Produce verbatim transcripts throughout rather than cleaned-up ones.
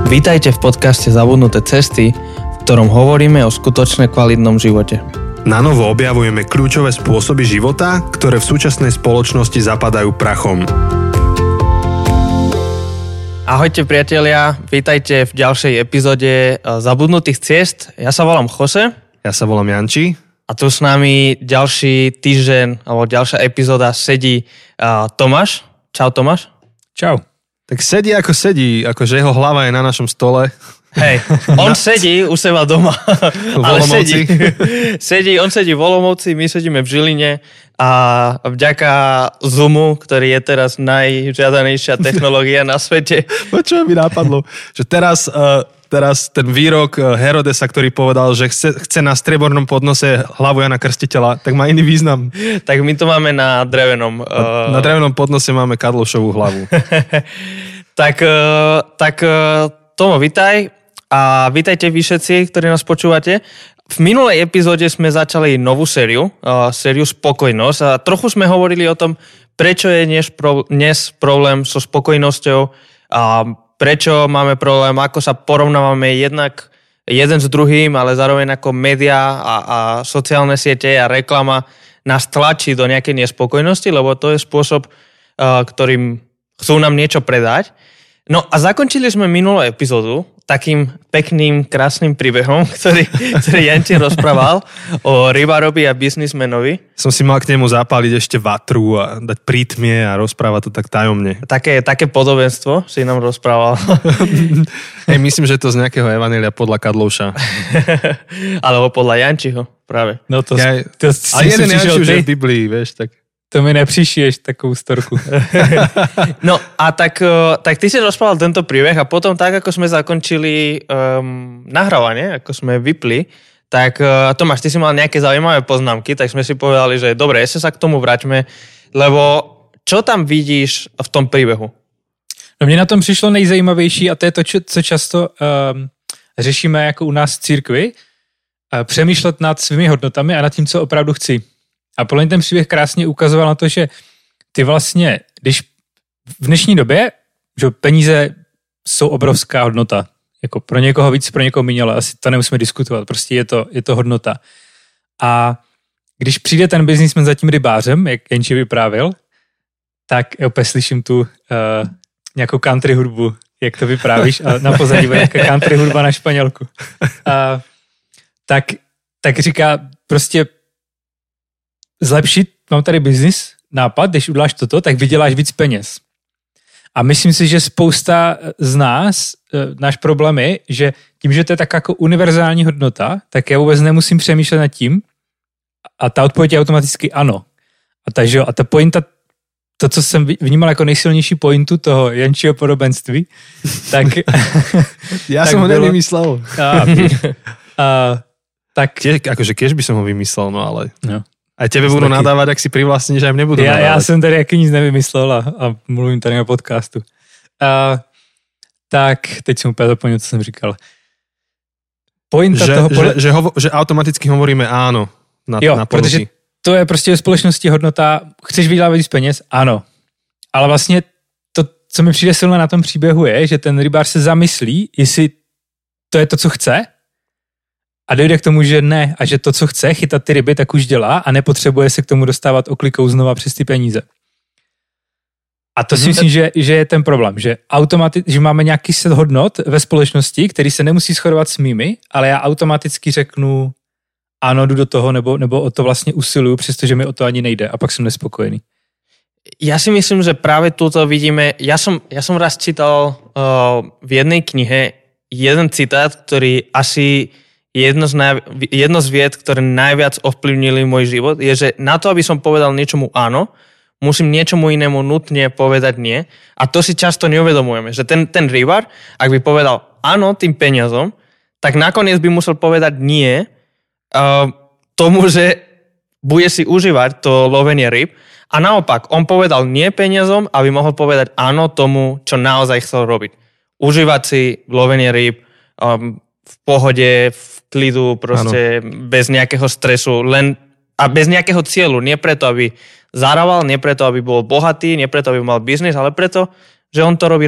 Vítajte v podcaste Zabudnuté cesty, v ktorom hovoríme o skutočne kvalitnom živote. Na novo objavujeme kľúčové spôsoby života, ktoré v súčasnej spoločnosti zapadajú prachom. Ahojte priatelia, vítajte v ďalšej epizóde Zabudnutých ciest. Ja sa volám Jose. Ja sa volám Janči. A tu s nami ďalší týždeň, alebo ďalšia epizóda sedí uh, Tomáš. Čau Tomáš. Čau. Tak sedí ako sedí, akože jeho hlava je na našom stole. Hej, on sedí u seba doma, ale sedí, sedí, on sedí v Olomouci, my sedíme v Žiline a vďaka Zoomu, ktorý je teraz najžiadanejšia technológia na svete. Čo mi napadlo? Že teraz, uh, teraz ten výrok Herodesa, ktorý povedal, že chce, chce na striebornom podnose hlavu Jana Krstiteľa, tak má iný význam. Tak my to máme na drevenom. Uh... Na, na drevenom podnose máme Kadlešovú hlavu. tak, uh, tak uh, Tomo, vitaj. A vítajte vy všetci, ktorí nás počúvate. V minulej epizóde sme začali novú sériu, uh, sériu Spokojnosť a trochu sme hovorili o tom, prečo je dnes, pro, dnes problém so spokojnosťou a prečo máme problém, ako sa porovnávame jednak jeden s druhým, ale zároveň ako médiá a, a sociálne siete a reklama nás tlačí do nejakej nespokojnosti, lebo to je spôsob, uh, ktorým chcú nám niečo predať. No a zakončili sme minulú epizódu takým pekným, krásnym príbehom, ktorý, ktorý Janči rozprával o rybárovi a biznismenovi. Som si mal k nemu zapáliť ešte vatru a dať prítmie a rozprávať to tak tajomne. Také, také podobenstvo si nám rozprával. Hej, myslím, že to z nejakého evanjelia podľa Kadlúša. Alebo podľa Jančiho, práve. No to, ja, to, to a jeden Janči už je v Biblii, vieš, tak... To mi nepřišieš takovou storku. No a tak, tak ty si rozprával tento príbeh a potom tak, ako sme zakončili um, nahrávanie, ako sme vypli, tak uh, Tomáš, ty si mal nejaké zaujímavé poznámky, tak sme si povedali, že dobre, ešte sa k tomu vraťme, lebo čo tam vidíš v tom príbehu? No mně na tom přišlo nejzajímavější a to je to, co často um, řešíme jako u nás v církvi, uh, přemýšlet nad svými hodnotami a nad tím, co opravdu chci. A podle mě ten příběh krásně ukazoval na to, že ty vlastně, když v dnešní době, že peníze jsou obrovská hodnota. Jako pro někoho víc, pro někoho méně, ale asi to nemusíme diskutovat. Prostě je to, je to hodnota. A když přijde ten biznismen za tím rybářem, jak Jenči vyprávil, tak opět slyším tu uh, nějakou country hudbu, jak to vyprávíš a na pozadí bude nějaká country hudba na Španělku. Uh, tak, tak říká prostě zlepšit, mám tady biznis, nápad, když uděláš toto, tak vyděláš víc peněz. A myslím si, že spousta z nás, náš problém je, že tím, že to je tak jako univerzální hodnota, tak já vůbec nemusím přemýšlet nad tím a ta odpověď je automaticky ano. A ta, že, a ta pointa, to, co jsem vnímal jako nejsilnější pointu toho Jančiho podobenství, tak... Já tak jsem ho bylo, nevymyslel. A, a, tak... Tiež, akože kiež by som ho vymyslel, no ale... No. A tebe budú taky nadávať, ak si privlastníš, že aj nebudú ja, nadávať. Ja som tady jaký nic nevymyslel a, a mluvím tady na podcastu. A, tak, teď som úplne doplnil, co som říkal. Pointa že, toho... Že, že, hovo, že automaticky hovoríme áno na, jo, na protože to je prostě ve společnosti hodnota, chceš vydělávat víc peněz? Ano. Ale vlastně to, co mi přijde silné na tom příběhu je, že ten rybář se zamyslí, jestli to je to, co chce, a dojde k tomu, že ne a že to, co chce, chytat ty ryby, tak už dělá a nepotřebuje se k tomu dostávat oklikou znova přes ty peníze. A to si mm-hmm. myslím, že, že je ten problém, že, automati- že máme nějaký set hodnot ve společnosti, který se nemusí shodovat s mými, ale já automaticky řeknu ano, jdu do toho, nebo, nebo o to vlastně usiluju, přestože mi o to ani nejde a pak jsem nespokojený. Ja si myslím, že práve túto vidíme, ja som, ja som raz čítal uh, v jednej knihe jeden citát, ktorý asi Jedno z, naj, jedno z vied, ktoré najviac ovplyvnili môj život, je, že na to, aby som povedal niečomu áno, musím niečomu inému nutne povedať nie. A to si často neuvedomujeme, že ten, ten rybár, ak by povedal áno tým peniazom, tak nakoniec by musel povedať nie uh, tomu, že bude si užívať to lovenie ryb. A naopak, on povedal nie peniazom, aby mohol povedať áno tomu, čo naozaj chcel robiť. Užívať si lovenie ryb um, v pohode, v klidu, proste ano. Bez nejakého stresu, len a bez nejakého cieľu. Nie preto, aby zarábal, nie preto, aby bol bohatý, nie preto, aby mal biznis, ale preto, že on to robí rád.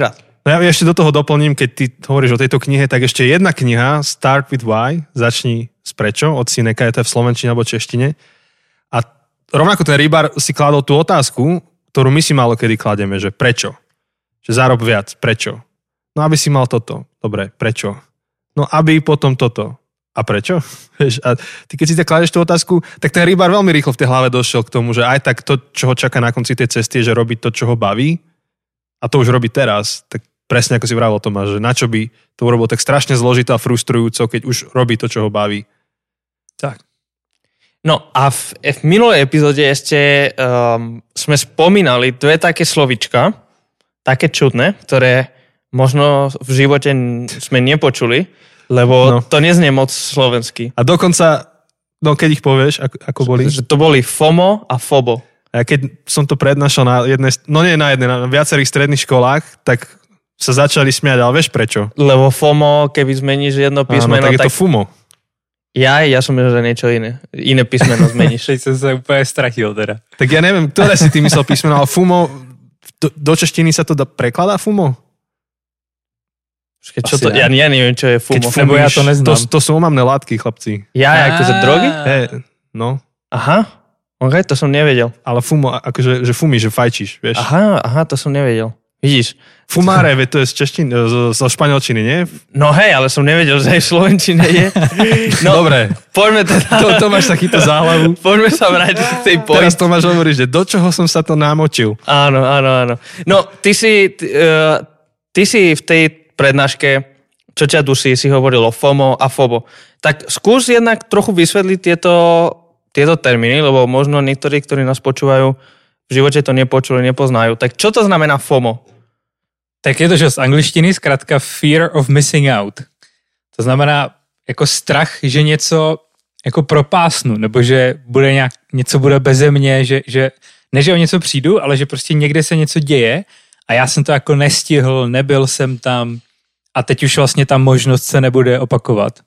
No ja ešte do toho doplním, keď ty hovoríš o tejto knihe, tak ešte jedna kniha, Start with Why, začni s prečo, od Seneka, je to v slovenčine alebo češtine. A rovnako ten rybár si kladol tú otázku, ktorú my si málo kedy klademe, že prečo? Že zárob viac, prečo? No aby si mal toto. Dobre, prečo? No aby potom toto. A prečo? A ty keď si tak kladeš tú otázku, tak ten rybár veľmi rýchlo v tej hlave došiel k tomu, že aj tak to, čo ho čaká na konci tej cesty, je, že robí to, čo ho baví. A to už robí teraz. Tak presne ako si vravel Tomáš, že na čo by to urobil tak strašne zložito a frustrujúco, keď už robí to, čo ho baví. Tak. No a v, v minulej epizóde ešte um, sme spomínali dve také slovička, také čudné, ktoré možno v živote sme nepočuli, lebo no. to neznie moc slovensky. A dokonca, no keď ich povieš, ako, ako boli? Že to boli FOMO a FOBO. A keď som to prednášal na jednej, no nie na jednej, na viacerých stredných školách, tak sa začali smiať, ale vieš prečo? Lebo FOMO, keby zmeníš jedno písmeno, Áno, tak je tak... to FUMO. Ja, ja som myslel, že niečo iné. Iné písmeno zmeníš. Teď som sa úplne stratil teda. Tak ja neviem, ktoré si ty myslel písmeno, ale FUMO, do, do češtiny sa to da, prekladá FUMO? Čo to, ja, ja neviem, čo je FUMO. Keď fumíš, ja to neznám. To, to sú omamné látky, chlapci. Ja, akože drogy? Hey, no. Aha, ok, to som nevedel. Ale FUMO, akože že fumíš, že fajčíš, vieš. Aha, aha, to som nevedel. Vidíš? Fumáre, to je z češtiny, zo, zo španielčiny, nie? No hej, ale som nevedel, že aj v slovenčine je. No, dobre. Poďme teda... To, to máš takýto záhlavu. Poďme sa vrátiť k tej pointe. Teraz Tomáš hovorí, že do čoho som sa to namočil. Áno, áno, áno. No, ty si, ty, uh, ty si v tej prednáške, čo ťa dusí, si hovoril o FOMO a FOBO. Tak skús jednak trochu vysvetliť tieto, tieto termíny, lebo možno niektorí, ktorí nás počúvajú, v živote to nepočuli, nepoznajú. Tak čo to znamená FOMO? Tak je to, že z angličtiny zkrátka fear of missing out. To znamená jako strach, že něco jako propásnu, nebo že bude nějak, něco bude beze mě, že, že ne, že o něco přijdu, ale že prostě někde se něco děje a já jsem to jako nestihl, nebyl jsem tam a teď už vlastně ta možnost se nebude opakovat.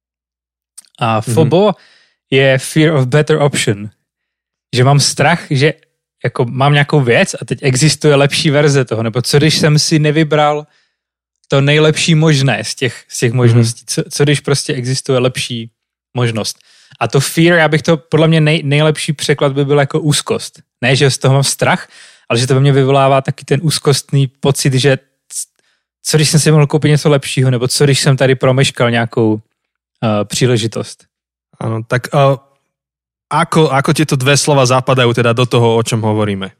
A FOBO mm-hmm. je fear of better option. Že mám strach, že jako mám nějakou věc a teď existuje lepší verze toho, nebo co když jsem si nevybral to nejlepší možné z těch, z těch možností, co, co když prostě existuje lepší možnost. A to fear, já bych to, podle mě nej, nejlepší překlad by byl jako úzkost. Ne, že z toho mám strach, ale že to ve mně vyvolává taky ten úzkostný pocit, že co když jsem si mohl koupit něco lepšího, nebo co když jsem tady promeškal nějakou uh, příležitost. Ano, tak... Uh... Ako, ako tieto dve slova zapadajú teda do toho, o čom hovoríme?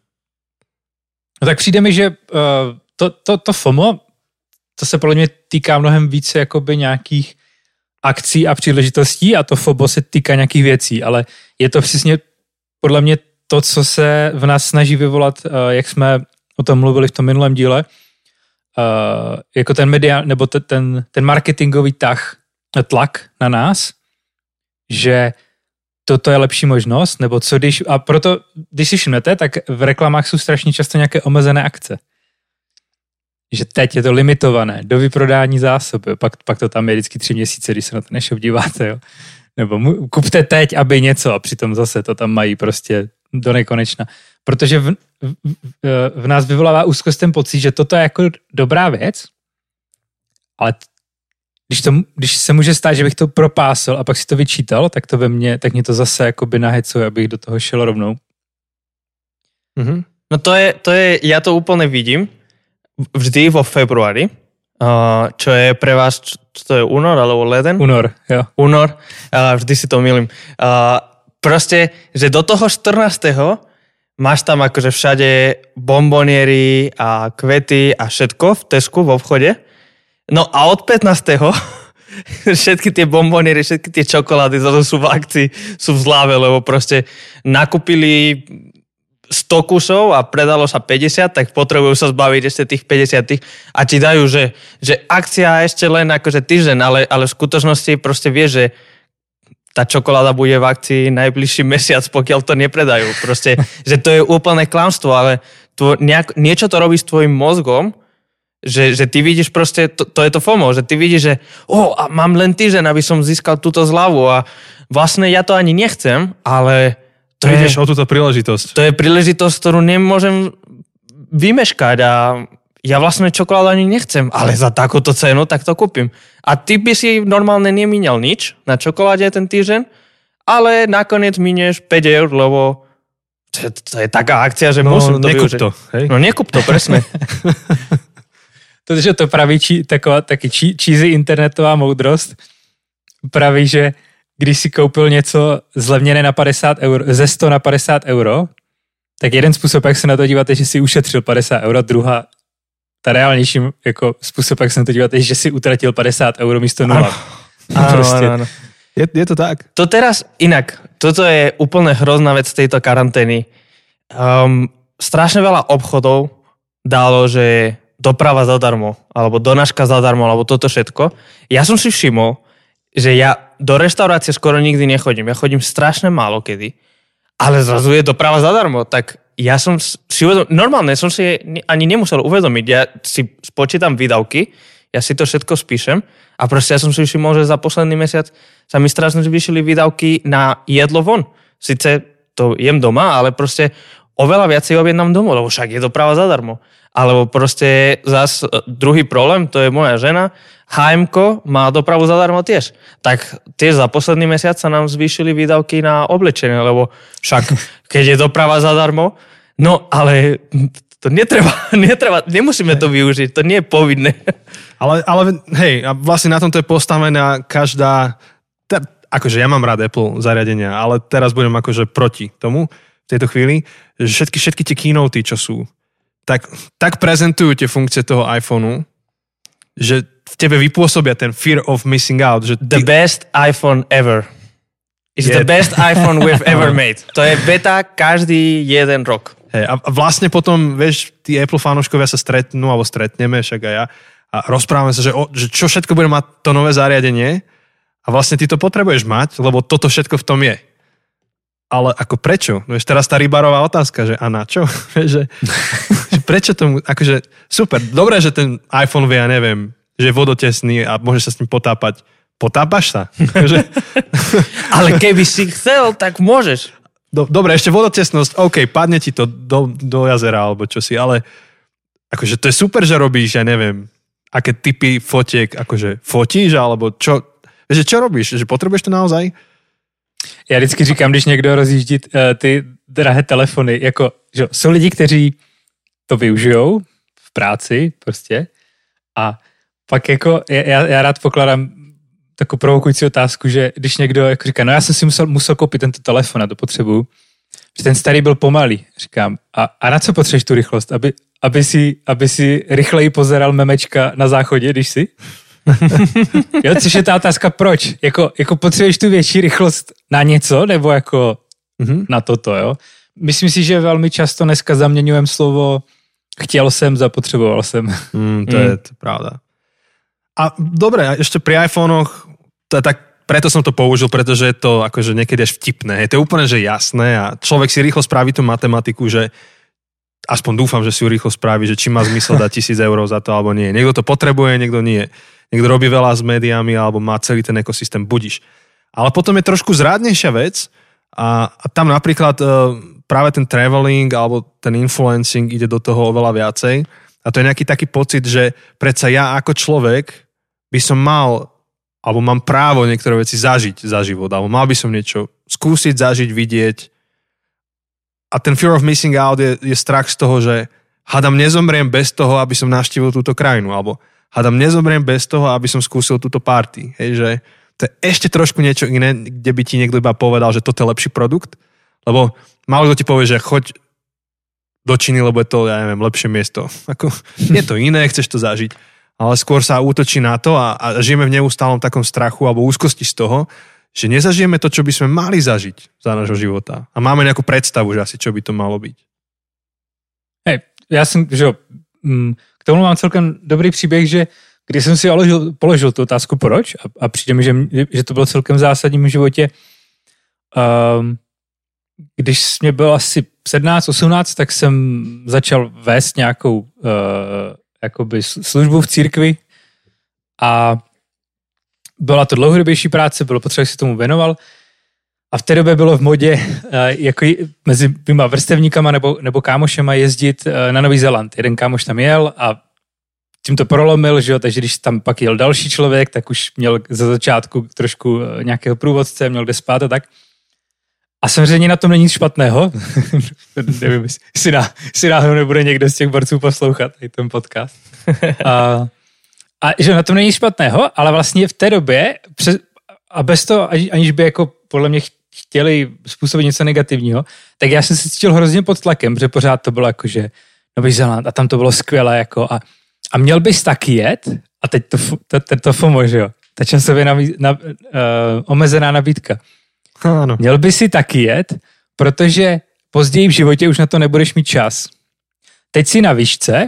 No tak přijde mi, že uh, to, to, to FOMO, to se podle mě týká mnohem více jakoby nějakých akcí a příležitostí a to FOBO se týká nějakých věcí, ale je to přesně podle mě to, co se v nás snaží vyvolat, uh, jak jsme o tom mluvili v tom minulém díle, uh, jako ten media, nebo ten, ten, ten marketingový tah, tlak na nás, že toto je lepší možnost, nebo co když, a proto, když si všimnete, tak v reklamách jsou strašně často nějaké omezené akce. Že teď je to limitované, do vyprodání zásob, jo. Pak, pak to tam je vždycky tři měsíce, když se na ten e-shop díváte, jo. Nebo mu, kupte teď, aby něco, a přitom zase to tam mají prostě do nekonečna. Protože v, v, v nás vyvolává úzkost ten pocit, že toto je jako dobrá věc, ale Když, to, když se může stát, že bych to propásl a pak si to vyčítal, tak to ve mně, tak mě to zase jakoby nahecuje, abych do toho šel rovnou. Mm-hmm. No to je, to je, ja to úplne vidím vždy vo februári, uh, čo je pre vás, čo to je únor alebo leden? Únor, jo. Únor, uh, vždy si to milím. Uh, proste, že do toho štrnásteho máš tam akože všade bomboniery a kvety a všetko v Tesku, v obchode. No a od pätnásteho všetky tie bomboniery, všetky tie čokolády sú v akcii, sú v zláve, lebo proste nakúpili sto kusov a predalo sa päťdesiat, tak potrebujú sa zbaviť ešte tých päťdesiat a ti dajú, že, že akcia ešte len akože týždeň, ale, ale v skutočnosti proste vieš, že tá čokoláda bude v akcii najbližší mesiac, pokiaľ to nepredajú. Proste, že to je úplné klamstvo, ale to nejak, niečo to robí s tvojim mozgom, Že, že ty vidíš proste, to, to je to FOMO, že ty vidíš, že oh, a mám len týždeň, aby som získal túto zľavu a vlastne ja to ani nechcem, ale to Prídeš je, o túto príležitosť. To je príležitosť, ktorú nemôžem vymeškať a ja vlastne čokoládu ani nechcem, ale za takúto cenu, tak to kúpim. A ty by si normálne nemíňal nič na čokoláde ten týždeň, ale nakoniec minieš päť eur, lebo to je, to je taká akcia, že no, musím to nekup využiť. To, hej? No nekup to, presne. To, že to praví či, taková taky či, cheesy internetová moudrost, praví, že když si koupil něco zlevněné na padesát eur, ze sto na padesát euro, tak jeden způsob, jak se na to dívat, je, že si ušetřil padesát euro, druhá, ta reálnější jako způsob, jak se na to dívat, je, že si utratil padesát euro místo nula. Áno, Proste. áno, áno. Je, je to tak. To teraz inak, toto je úplne hrozná vec tejto karantény. Um, strašne veľa obchodov dalo, že doprava zadarmo, alebo donáška zadarmo, alebo toto všetko. Ja som si všimol, že ja do reštaurácie skoro nikdy nechodím. Ja chodím strašne málo kedy, ale zrazu je doprava zadarmo. Tak ja som si uvedomil, normálne som si ani nemusel uvedomiť. Ja si spočítam výdavky, ja si to všetko spíšem a proste ja som si všimol, že za posledný mesiac sa mi strašne zvýšili výdavky na jedlo von. Sice to jem doma, ale proste oveľa viacej objednám domov, lebo však je doprava zadarmo. Alebo proste zas druhý problém, to je moja žena, há emko má dopravu zadarmo tiež. Tak tiež za posledný mesiac sa nám zvýšili výdavky na oblečenie, lebo však keď je doprava zadarmo, no ale to netreba, netreba, nemusíme to využiť, to nie je povinné. Ale, ale hej, a vlastne na tomto je postavená každá, te, akože ja mám rád Apple zariadenia, ale teraz budem akože proti tomu v tejto chvíli, že všetky, všetky tie keynoty, čo sú, tak, tak prezentujú tie funkcie toho iPhoneu, že v tebe vypôsobia ten fear of missing out. Že ty... The best iPhone ever. It's je... the best iPhone we've ever made. To je beta každý jeden rok. Hey, a vlastne potom, vieš, tí Apple fanúškovia sa stretnú, alebo stretneme, však aj ja, a rozprávame sa, že, o, že čo všetko bude mať to nové zariadenie a vlastne ty to potrebuješ mať, lebo toto všetko v tom je. Ale ako prečo? No ešte teraz tá rybarová otázka, že a na čo? že, že prečo tomu, akože super, dobré, že ten iPhone vie, ja neviem, že je vodotesný a môžeš sa s ním potápať. Potápaš sa? Ale keby si chcel, tak môžeš. Do, dobre, ešte vodotesnosť, OK, padne ti to do, do jazera alebo čosi, ale akože to je super, že robíš, ja neviem, aké typy fotiek, akože fotíš, alebo čo, že čo robíš? Že potrebuješ to naozaj? Já vždycky říkám, když někdo rozjíždí uh, ty drahé telefony, jako, že jsou lidi, kteří to využijou v práci prostě a pak jako, já, já rád pokládám takovou provokující otázku, že když někdo jako říká, no já jsem si musel, musel koupit tento telefon a to potřebuju, že ten starý byl pomalý, říkám, a, a na co potřebuješ tu rychlost? Aby, aby, si, aby si rychleji pozeral memečka na záchodě, když si? Jo, což je ta otázka, proč? Jako, jako potřebuješ tu větší rychlost na něco, nebo jako mm-hmm. na toto, jo? Myslím si, že velmi často dneska zaměňujem slovo chtěl jsem, zapotřeboval jsem. Mm, to mm. je to pravda. A dobre, ešte pri iPhonech, to je tak, preto som to použil, pretože je to akože niekedy až vtipné. Je to úplne, že jasné a človek si rýchlo spraví tú matematiku, že aspoň dúfam, že si ju rýchlo spraví, že či má zmysel dať tisíc eur za to, alebo nie. Niekto to potrebuje, niekto nie. Niekto robí veľa s médiami, alebo má celý ten ekosystém, budiš. Ale potom je trošku zrádnejšia vec a, a tam napríklad e, práve ten traveling alebo ten influencing ide do toho oveľa viacej. A to je nejaký taký pocit, že predsa ja ako človek by som mal, alebo mám právo niektoré veci zažiť za život, alebo mal by som niečo skúsiť, zažiť, vidieť. A ten fear of missing out je, je strach z toho, že hádam nezomriem bez toho, aby som navštívil túto krajinu, alebo hádam nezomriem bez toho, aby som skúsil túto party. Hej, že to je ešte trošku niečo iné, kde by ti niekto iba povedal, že toto je lepší produkt, lebo málo kto ti povie, že choď do Číny, lebo je to, ja neviem, lepšie miesto. Ako, je to iné, chceš to zažiť. Ale skôr sa útočí na to a, a žijeme v neustálom takom strachu alebo úzkosti z toho, že nezažijeme to, čo by sme mali zažiť za nášho života. A máme nejakú predstavu, že asi čo by to malo byť. Hej, já jsem, že jo, k tomu mám celkem dobrý příběh, že když jsem si položil, položil tu otázku proč a, a přijde mi, že, že to bylo celkem zásadní v životě, um, když mě bylo asi sedmnáct osmnáct, tak jsem začal vést nějakou uh, jakoby službu v církvi a byla to dlouhodobější práce, bylo potřeba, že se tomu věnoval a v té době bylo v modě uh, jako mezi mýma vrstevníkama nebo, nebo kámošema jezdit uh, na Nový Zéland. Jeden kámoš tam jel a tím to prolomil, že jo, takže když tam pak jel další člověk, tak už měl za začátku trošku nějakého průvodce, měl kde spát a tak. A samozřejmě na tom není nic špatného. Nevím, jestli, ná, jestli náhodou nebude někdo z těch borců poslouchat i ten podcast. A, a že na tom není nic špatného, ale vlastně v té době přes, a bez toho, aniž by jako podle mě chtěli způsobit něco negativního, tak já jsem se cítil hrozně pod tlakem, protože pořád to bylo jako, že Nový Zéland a tam to bylo skvělé jako a, a měl bys taky jet a teď to, to, to, to FOMO, že jo, ta časově naví, na, uh, omezená nabídka. Ano. Měl by si taky jet, protože později v životě už na to nebudeš mít čas. Teď si na výšce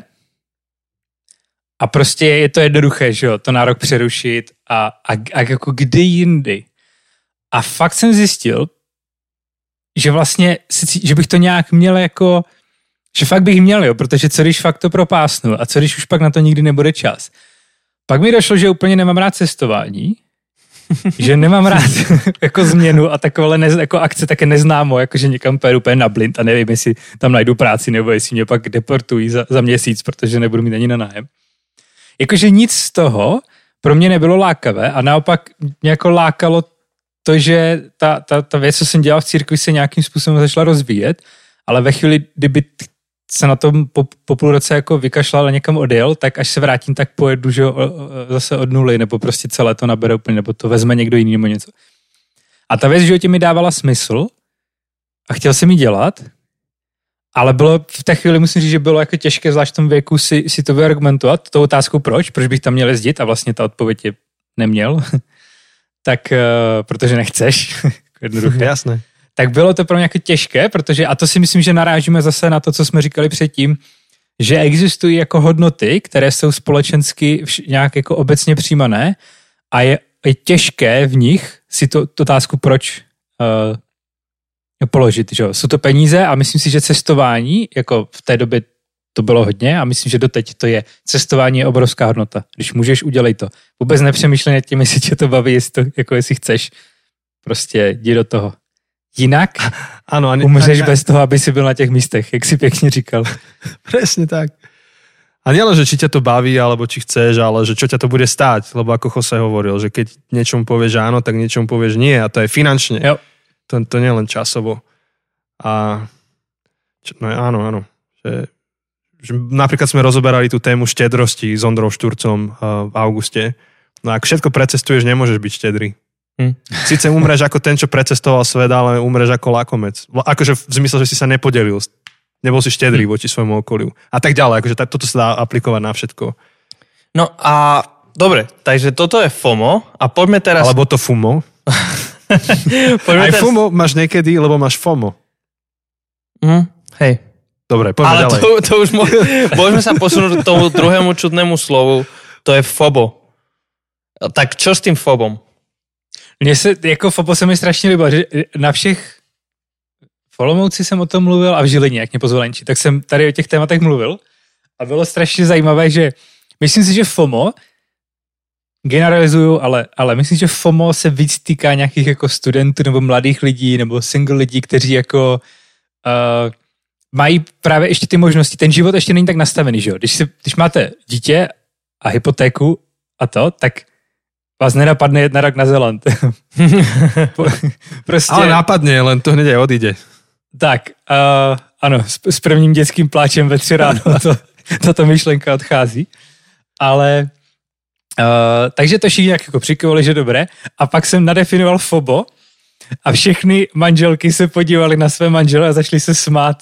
a prostě je to jednoduché, že jo, to na rok přerušit a, a, a jako kdy jindy. A fakt jsem zjistil, že vlastně, že bych to nějak měl jako, že fakt bych měl, jo, protože co když fakt to propásnu a co když už pak na to nikdy nebude čas. Pak mi došlo, že úplně nemám rád cestování, že nemám rád jako změnu a takové ne, jako akce také neznámo, jakože někam pojedu úplně na blind a nevím, jestli tam najdu práci nebo jestli mě pak deportují za, za měsíc, protože nebudu mít ani na nájem. Jakože nic z toho pro mě nebylo lákavé a naopak mě jako lákalo to, že ta, ta, ta věc, co jsem dělal v církvi, se nějakým způsobem začala rozvíjet, ale ve chvíli, kdyby se na tom po, po půl roce jako vykašlal a někam odjel, tak až se vrátím, tak pojedu že, zase od nuly, nebo prostě celé to nabere úplně, nebo to vezme někdo jiný nebo něco. A ta věc v životě mi dávala smysl a chtěl jsem ji dělat, ale bylo v té chvíli, musím říct, že bylo jako těžké, zvlášť v tom věku, si, si to vyargumentovat, tou otázkou proč, proč bych tam měl jezdit a vlastně ta odpověď je neměl, tak uh, protože nechceš, jednoduché. Jasné. Tak bylo to pro mě jako těžké, protože, a to si myslím, že narážíme zase na to, co jsme říkali předtím, že existují jako hodnoty, které jsou společensky nějak jako obecně přijímané a je, je těžké v nich si to, tu otázku proč uh, položit. Že? Jsou to peníze a myslím si, že cestování, jako v té době to bylo hodně a myslím, že doteď to je. Cestování je obrovská hodnota. Když můžeš, udělej to. Vůbec nepřemýšlej nad tím, jestli tě to baví, jestli, to, jako jestli chceš. Prostě jdi do toho. Jinak ano, ani, umřeš ani, bez toho, aby si byl na těch místech, jak si pěkně říkal. Presne tak. A nielen, že či ťa to baví, alebo či chceš, ale že čo ťa to bude stáť, lebo ako Jose hovoril, že keď niečom povieš áno, tak niečom povieš nie a to je finančne. Jo. To, to nie len časovo. A čo, no áno, áno. Že, že napríklad sme rozoberali tú tému štedrosti s Ondrou Šturcom uh, v auguste. No ak všetko precestuješ, nemôžeš byť štedrý. Hm. Sice umreš ako ten, čo precestoval svet, ale umreš ako lakomec. Akože v zmysle, že si sa nepodelil. Nebol si štedrý hm. voči svojmu okoliu. A tak ďalej. Akože toto sa dá aplikovať na všetko. No a dobre, takže toto je FOMO a poďme teraz... Alebo to FUMO. Aj teraz... FUMO máš niekedy, lebo máš FOMO. Hm, hej. Dobre, poďme ale ďalej. Ale to, to už mo- môžeme sa posunúť k tomu druhému čudnému slovu. To je FOBO. Tak čo s tým FOBom? Mně se, jako FOBO se mi strašně líbilo, že na všech v Olomouci jsem o tom mluvil a v Žilině, jak mě pozval Lenčí, tak jsem tady o těch tématech mluvil a bylo strašně zajímavé, že myslím si, že FOMO, generalizuju, ale, ale myslím, že FOMO se víc týká nějakých jako studentů nebo mladých lidí nebo single lidí, kteří jako uh, mají právě ještě ty možnosti. Ten život ještě není tak nastavený, že jo? Když, si, když máte dítě a hypotéku a to, tak vás nenapadne jet na rok na Zéland. prostě... Ale nápadne, len to hned aj odíde. Tak, uh, ano, s, s prvním dětským pláčem ve tři ráno to, tato myšlenka odchází. Ale, uh, takže to všichni jako přikovali, že dobré. A pak jsem nadefinoval FOBO a všechny manželky se podívali na své manžele a začali se smát.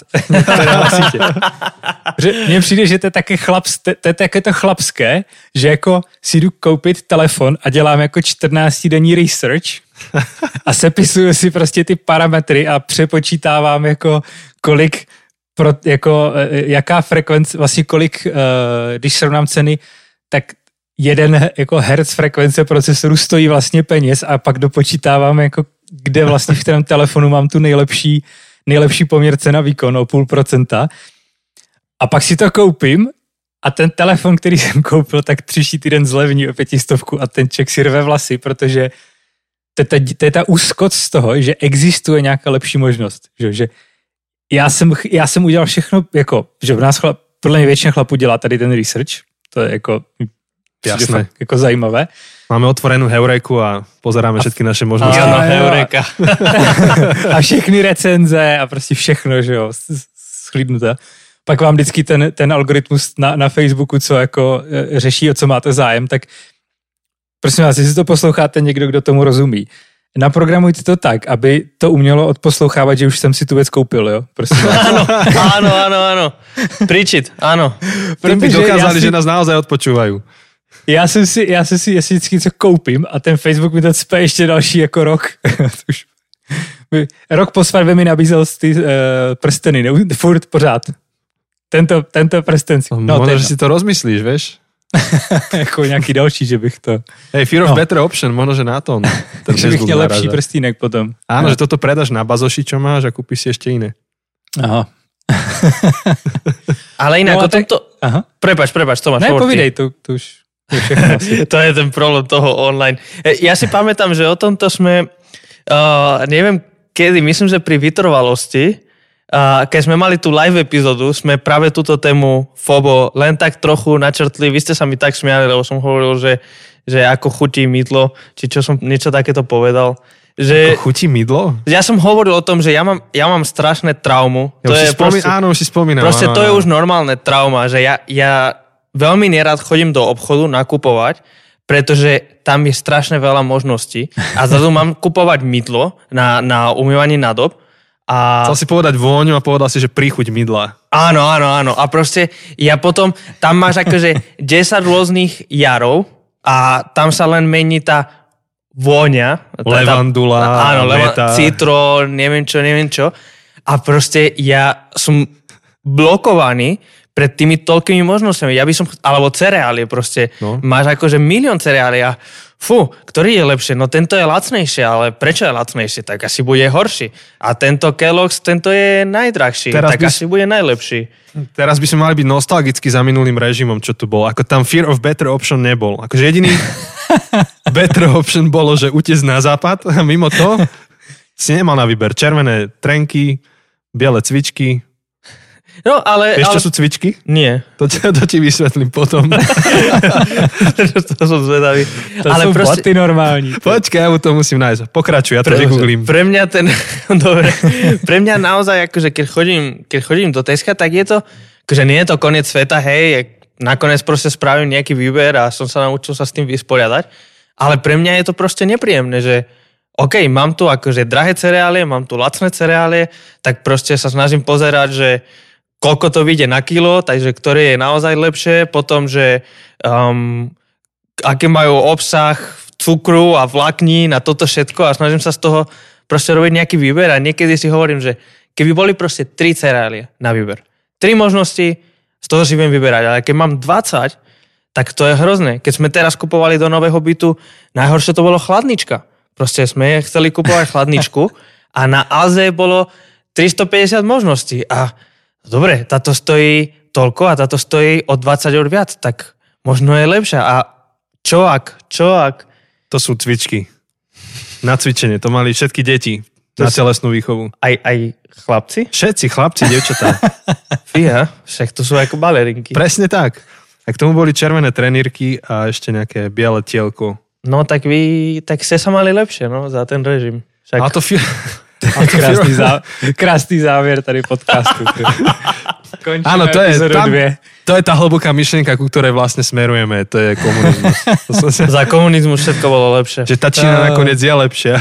Mně přijde, že to je také chlaps, to, to je také to chlapské, že jako si jdu koupit telefon a dělám jako čtrnáctidenní research a sepisuju si prostě ty parametry a přepočítávám jako kolik, pro, jako jaká frekvence, vlastně kolik, když srovnám ceny, tak jeden jako hertz frekvence procesoru stojí vlastně peněz a pak dopočítávám jako kde vlastně v kterém telefonu mám tu nejlepší, nejlepší poměr cena výkon o půl procenta. A pak si to koupím a ten telefon, který jsem koupil, tak příští týden zlevní o pětistovku a ten ček si rve vlasy, protože to je ta, to je ta úzkost z toho, že existuje nějaká lepší možnost. Že, že já, jsem, já jsem udělal všechno, jako, že v nás chlap, podle mě většina chlapů dělá tady ten research, To je jako, Jasné. jako zajímavé. Máme otvorenú heuréku a pozeráme všetky naše možnosti. Áno, heuréka. A všechny recenze a prostě všechno, že jo, schlídnuté. Pak vám vždycky ten, ten algoritmus na, na Facebooku, co jako e, řeší, o co máte zájem, tak prosím vás, jestli to posloucháte někdo, kdo tomu rozumí, naprogramujte to tak, aby to umělo odposlouchávat, že už jsem si tu věc koupil, jo? Prosím vás. Áno, áno, áno, áno. Pričit, áno. Tým by dokázali, si, že nás naozaj odpočúvajú. Já jsem si, já jsem si jestli vždycky co koupím a ten Facebook mi to cpe ještě další jako rok. Už, rok po svatbě mi nabízel ty uh, prsteny, ne, furt pořád. Tento, tento prsten si... No, možno, že si to rozmyslíš, vieš? Jako nějaký další, že bych to... Hej, Fear of no. Better Option, možno, že na tom. Ten že bych měl lepší prstínek potom. Áno, no. Že toto predáš na bazoši, čo máš a kúpiš si ešte iné. Aha. Ale inak no, o tomto... Tak... Aha. Prepač, prepač, Tomáš. Ne, povídej, to, to už... To, to je ten problém toho online. Ja si pamätám, že o tomto sme... Uh, neviem kedy, myslím, že pri vytrvalosti, uh, keď sme mali tú live epizódu, sme práve túto tému Fobo len tak trochu načrtli. Vy ste sa mi tak smiali, lebo som hovoril, že, že ako chutí mydlo, či čo som niečo takéto povedal. Že, ako chutí mydlo? Ja som hovoril o tom, že ja mám, ja mám strašné traumu. Ja to je spomí... proste, áno, už si spomínam. Proste áno, to áno. je už normálne trauma, že ja, ja veľmi nerad chodím do obchodu nakupovať, pretože tam je strašne veľa možností a zrazu mám kupovať mydlo na, na umývanie nádob. A... Chcel si povedať vôňu a povedal si, že príchuť mydla. Áno, áno, áno. A proste ja potom, tam máš akože desať rôznych jarov a tam sa len mení tá vôňa. Levandula, tá, áno, meta. Citrón, neviem čo, neviem čo. A proste ja som blokovaný pred tými toľkými možnosťami. Ja by som, alebo cereálie proste. No. Máš akože milión cereálie a fú, ktorý je lepšie? No tento je lacnejšie, ale prečo je lacnejšie? Tak asi bude horší. A tento Kellogg's, tento je najdrahší. Teraz tak by... asi bude najlepší. Teraz by sme mali byť nostalgickí za minulým režimom, čo tu bol. Ako tam Fear of Better Option nebol. Akože jediný better option bolo, že utiec na západ a mimo to si nemal na výber. Červené trenky, biele cvičky. No, ale... Vieš, čo ale... sú cvičky? Nie. To, to ti vysvetlím potom. to som zvedavý. To ale sú proste... boty normálni. Počkaj, ja mu to musím nájsť. Pokračuj, ja to vygooglím. Pre mňa ten... Dobre. Pre mňa naozaj, akože keď chodím, keď chodím do Teska, tak je to... Akože nie je to koniec sveta, hej, nakoniec proste spravím nejaký výber a som sa naučil sa s tým vysporiadať. Ale pre mňa je to proste nepríjemné, že OK, mám tu akože drahé cereálie, mám tu lacné cereálie, tak proste sa snažím pozerať, že koľko to vyjde na kilo, takže ktoré je naozaj lepšie, potom, že um, aké majú obsah cukru a vláknín a toto všetko a snažím sa z toho proste robiť nejaký výber a niekedy si hovorím, že keby boli proste tri cereálie na výber, tri možnosti, z toho si viem vyberať, ale keď mám dvadsať, tak to je hrozné. Keď sme teraz kupovali do nového bytu, najhoršie to bolo chladnička. Proste sme chceli kupovať chladničku a na Alze bolo tristopäťdesiat možností a dobre, táto stojí toľko a táto stojí o dvadsať eur viac, tak možno je lepšia. A čo ak? Čo ak? To sú cvičky. Na cvičenie. To mali všetky deti na telesnú výchovu. Aj, aj chlapci? Všetci, chlapci, dievčatá. Fíha, však to sú ako balerinky. Presne tak. A k tomu boli červené trenírky a ešte nejaké biele tielko. No tak vy, tak ste sa mali lepšie, no, za ten režim. Však... A to... Fi- Krásný, zá, krásný závier tady podcastu. Končíme áno, to je, tam, dve. to je tá hlboká myšlienka, ku ktorej vlastne smerujeme. To je komunizmus. To sa... Za komunizmus všetko bolo lepšie. Že tá Čína uh... nakoniec je lepšia.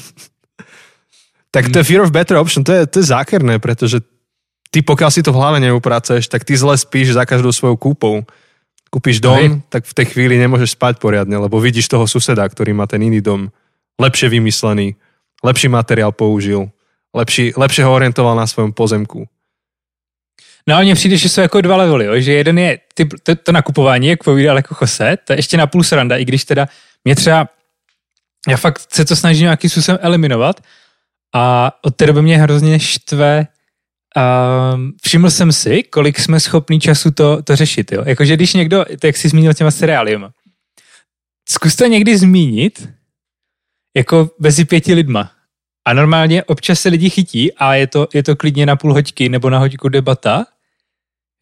Tak to je Fear of Better Option. To je, to je zákerné, pretože ty pokiaľ si to v hlave neupracuješ, tak ty zle spíš za každou svojou kúpou. Kúpiš dom, Aj. tak v tej chvíli nemôžeš spať poriadne, lebo vidíš toho suseda, ktorý má ten iný dom lepšie vymyslený, lepší materiál použil, lepší, lepšie ho orientoval na svojom pozemku. No a mně přijde, že jsou jako dva levely, jo? Že jeden je ty, to, to nakupování, jak povídal jako Jose, to je ještě na půl sranda, i když teda mě třeba, já fakt se to snažím nějakým způsobem eliminovat a od té doby mě hrozně štve. Um, všiml jsem si, kolik jsme schopní času to, to řešit, jo? Jakože když někdo, to jak jsi zmínil těma seriáliema, zkus to někdy zmínit jako mezi pěti lidma. A normálně občas se lidi chytí a je to, je to klidně na půl hoďky nebo na hoďku debata.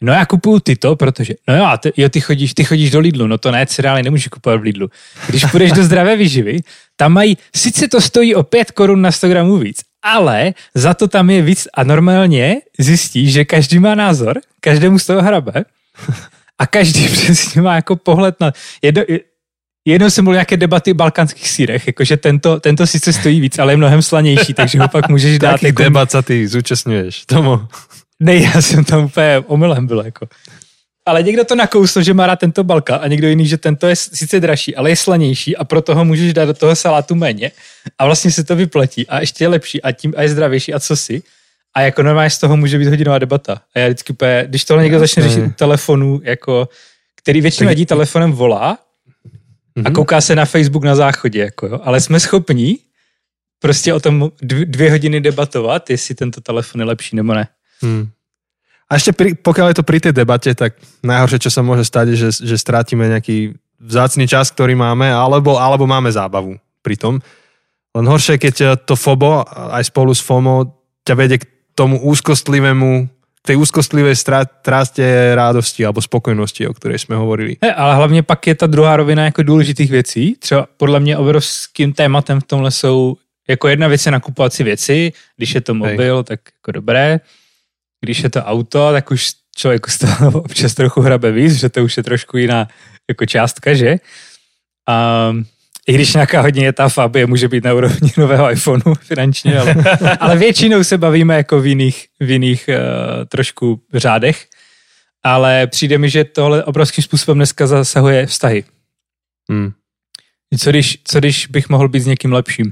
no já kupuju tyto, protože, no jo, a ty, jo, ty chodíš, ty chodíš do Lidlu, no to ne, cereály nemůžeš kupovat v Lidlu. Když půjdeš do Zdravé výživy, tam mají, sice to stojí o pět korun na sto gramů víc, ale za to tam je víc a normálně zjistíš, že každý má názor, každému z toho hrabe a každý přesně má jako pohled na... Jedno, jednou jsem byl nějaké debaty o balkánských sírech, jakože tento, tento sice stojí víc, ale je mnohem slanější, takže ho pak můžeš dát... Takých jako... debat sa ty zúčastňuješ, tomu. Ne, já jsem tam úplně omylem byl, jako. Ale někdo to nakousl, že má rád tento Balkán a někdo jiný, že tento je sice dražší, ale je slanější a proto ho můžeš dát do toho salátu méně a vlastně se to vyplatí a ještě je lepší a tím a je zdravější a co si. A jako normálně z toho může být hodinová debata. A já vždycky úplně, když tohle někdo začne řešit telefonu, jako, který většinou lidí telefonem volá a kouká se na Facebook na záchodě, jako jo. Ale jsme schopní prostě o tom dvě hodiny debatovat, jestli tento telefon je lepší nebo ne. Hmm. A ešte pri, pokiaľ je to pri tej debate, tak najhoršie, čo sa môže stať, je, že, že strátime nejaký vzácny čas, ktorý máme, alebo, alebo máme zábavu pri tom. Len horšie, keď to FOBO aj spolu s FOMO ťa vedie k tomu úzkostlivému, k tej úzkostlivej tráste rádosti alebo spokojnosti, o ktorej sme hovorili. He, ale hlavně pak je ta druhá rovina jako důležitých věcí. Třeba podle mě obrovským tématem v tomhle jsou jako jedna věc je nakupovat si věci, když je to mobil, Hej. tak jako dobré. Když je to auto, tak už člověk z toho občas trochu hrabe víc, že to už je trošku jiná jako částka, že? A i když nějaká hodně etá fabie může být na úrovni nového iPhoneu finančně, ale, ale většinou se bavíme jako v jiných, v jiných uh, trošku řádech. Ale přijde mi, že tohle obrovským způsobem dneska zasahuje vztahy. Hmm. Co když, co když bych mohl být s někým lepším?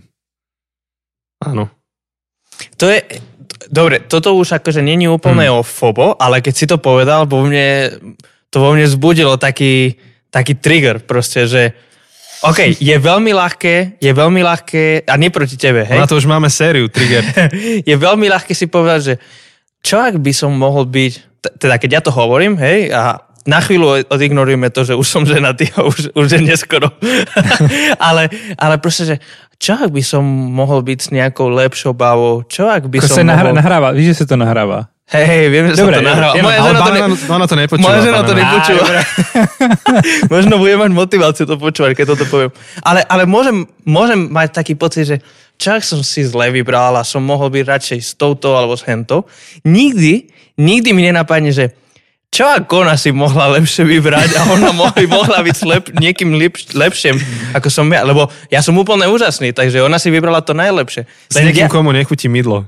Áno. To je... Dobre, toto už akože nie je úplne hmm. o FOBO, ale keď si to povedal, vo mne, to vo mne vzbudilo taký, taký trigger proste, že OK, je veľmi ľahké, je veľmi ľahké, a nie proti tebe, hej? Na to už máme sériu trigger. Je veľmi ľahké si povedať, že čo ak by som mohol byť, teda keď ja to hovorím, hej, a na chvíľu odignorujeme to, že už som ženatý a už, už je neskoro. ale, ale proste, že čo ak by som mohol byť s nejakou lepšou bavou? Čo ak by Ko som sa mohol... nahráva, víš, že sa to nahráva. Hej, hej, viem, že dobre, sa to nahráva. Moja žena to, ne... ona to nepočúva. Moja žena to nepočúva. Možno budem mať motiváciu to počúvať, keď toto poviem. Ale, ale môžem, môžem mať taký pocit, že čo ak som si zle vybral a som mohol byť radšej s touto alebo s hentou. Nikdy, nikdy mi nenapadne, že čo ak ona si mohla lepšie vybrať a ona mohla, mohla byť lep, niekým lepš, lepším, ako som ja. Lebo ja som úplne úžasný, takže ona si vybrala to najlepšie. S niekým, ja... komu nechutí mydlo.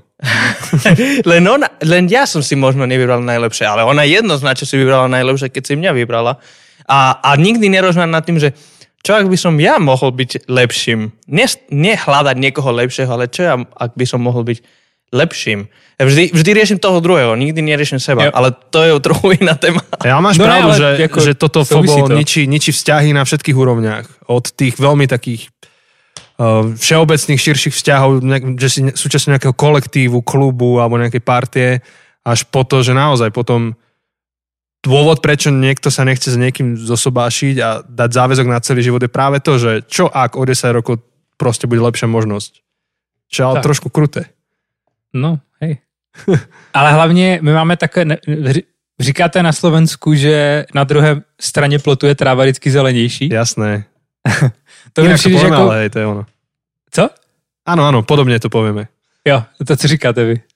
len, ona, len ja som si možno nevybral najlepšie, ale ona jednoznačne si vybrala najlepšie, keď si mňa vybrala. A, a nikdy nerozmýšľam nad tým, že čo ak by som ja mohol byť lepším. Ne, nehľadať niekoho lepšieho, ale čo ja, ak by som mohol byť lepším. Vždy, vždy riešim toho druhého, nikdy neriešim seba, jo. Ale to je trochu iná téma. Ja máš no, pravdu, že, ako, že toto FOBO to. ničí, ničí vzťahy na všetkých úrovniach. Od tých veľmi takých uh, všeobecných, širších vzťahov, že si súčasťou nejakého kolektívu, klubu alebo nejakej partie, až po to, že naozaj potom dôvod, prečo niekto sa nechce s niekým zosobášiť a dať záväzok na celý život je práve to, že čo ak o desať rokov proste bude lepšia možnosť. Čo je ale trošku kruté. No, hej. Ale hlavně my máme také, ne, říkáte na Slovensku, že na druhé straně plotu je tráva vždycky zelenější? Jasné. To mi přijde, povíme, jako... ale hej, to je ono. Co? Áno, áno, podobne to povieme. Jo, to co říkáte vy?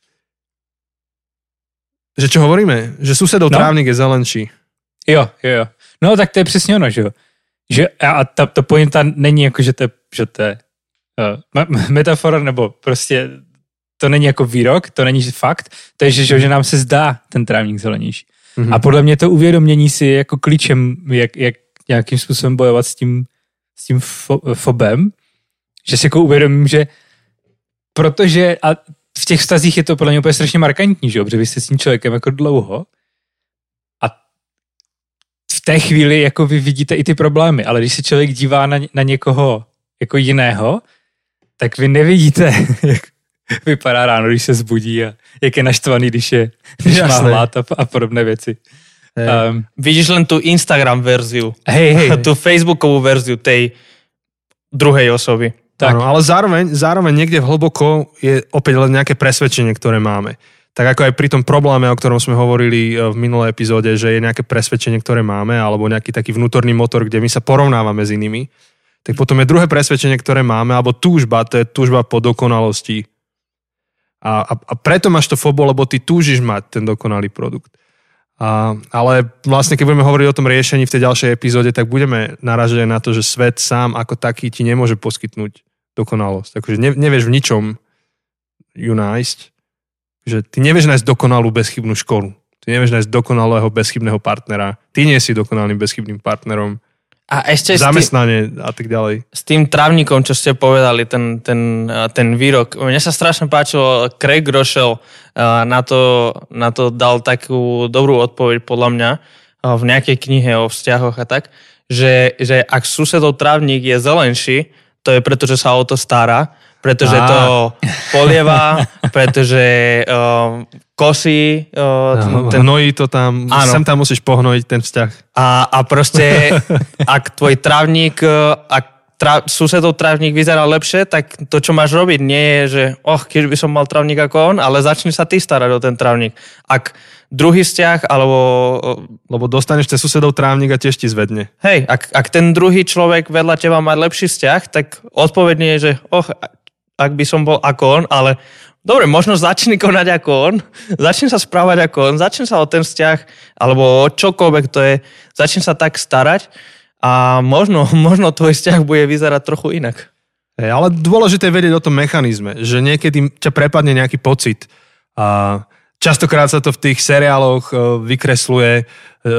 Že čo hovoríme? Že susedov no? trávnik je zelenší. Jo, jo, jo. No tak to je přesně ono, že jo. Že, a ta, ta pointa není jako, že to je, že to je uh, metafora, nebo prostě to není jako výrok, to není fakt, to je, že, že nám se zdá ten trávník zelenější. Mm-hmm. A podle mě to uvědomění si jako klíčem, jak, jak nějakým způsobem bojovat s tím, s tím fo, fobem, že si jako uvědomím, že protože a v těch vztazích je to podle mě úplně strašně markantní, že jo, protože vy jste s tím člověkem jako dlouho a v té chvíli jako vy vidíte i ty problémy, ale když se člověk dívá na, na někoho jako jiného, tak vy nevidíte, jak vypadá ráno, když se zbudí a jak je naštvaný, když, je, když má hlad a, a podobné věci. Hey. Um, Vidíš len tú Instagram verziu. Hej, hej. Tú Facebookovú verziu tej druhej osoby. Tak. Áno, ale zároveň, zároveň niekde hlboko je opäť len nejaké presvedčenie, ktoré máme. tak ako aj pri tom probléme, o ktorom sme hovorili v minulej epizóde, že je nejaké presvedčenie, ktoré máme, alebo nejaký taký vnútorný motor, kde my sa porovnávame s inými, tak potom je druhé presvedčenie, ktoré máme, alebo túžba, to je túžba po dokonalosti. A, a, a preto máš to fobo, lebo ty túžiš mať ten dokonalý produkt. A, ale vlastne, keď budeme hovoriť o tom riešení v tej ďalšej epizóde, tak budeme narážať na to, že svet sám ako taký ti nemôže poskytnúť dokonalosť. Takže ne, nevieš v ničom ju nájsť. Že ty nevieš nájsť dokonalú bezchybnú školu. Ty nevieš nájsť dokonalého bezchybného partnera. Ty nie si dokonalým bezchybným partnerom. A ešte zamestnanie a tak ďalej. S tým trávnikom, čo ste povedali, ten, ten, ten výrok. Mne sa strašne páčilo, Craig Rochelle na to, na to dal takú dobrú odpoveď podľa mňa v nejakej knihe o vzťahoch a tak, že, že ak susedov trávnik je zelenší, to je preto, že sa o to stará, pretože ah. to polieva, pretože uh, kosí. Uh, ten... Hnojí to tam, áno. Sem tam musíš pohnojiť ten vzťah. A, a proste, ak tvoj trávnik, ak tra, susedov trávnik vyzerá lepšie, tak to, čo máš robiť, nie je, že oh, keď by som mal trávnik ako on, ale začni sa ty starať o ten trávnik. Ak druhý vzťah, alebo... Lebo dostaneš ten susedov trávnik a tiež ti zvedne. Hej, ak, ak ten druhý človek vedľa teba má lepší vzťah, tak odpovedne je, že oh, ak by som bol ako on, ale dobre, možno začni konať ako on, začni sa správať ako on, začni sa o ten vzťah, alebo o čokoľvek to je, začni sa tak starať a možno, možno tvoj vzťah bude vyzerať trochu inak. Hey, ale dôležité je vedieť o tom mechanizme, že niekedy ťa prepadne nejaký pocit a častokrát sa to v tých seriáloch vykresluje,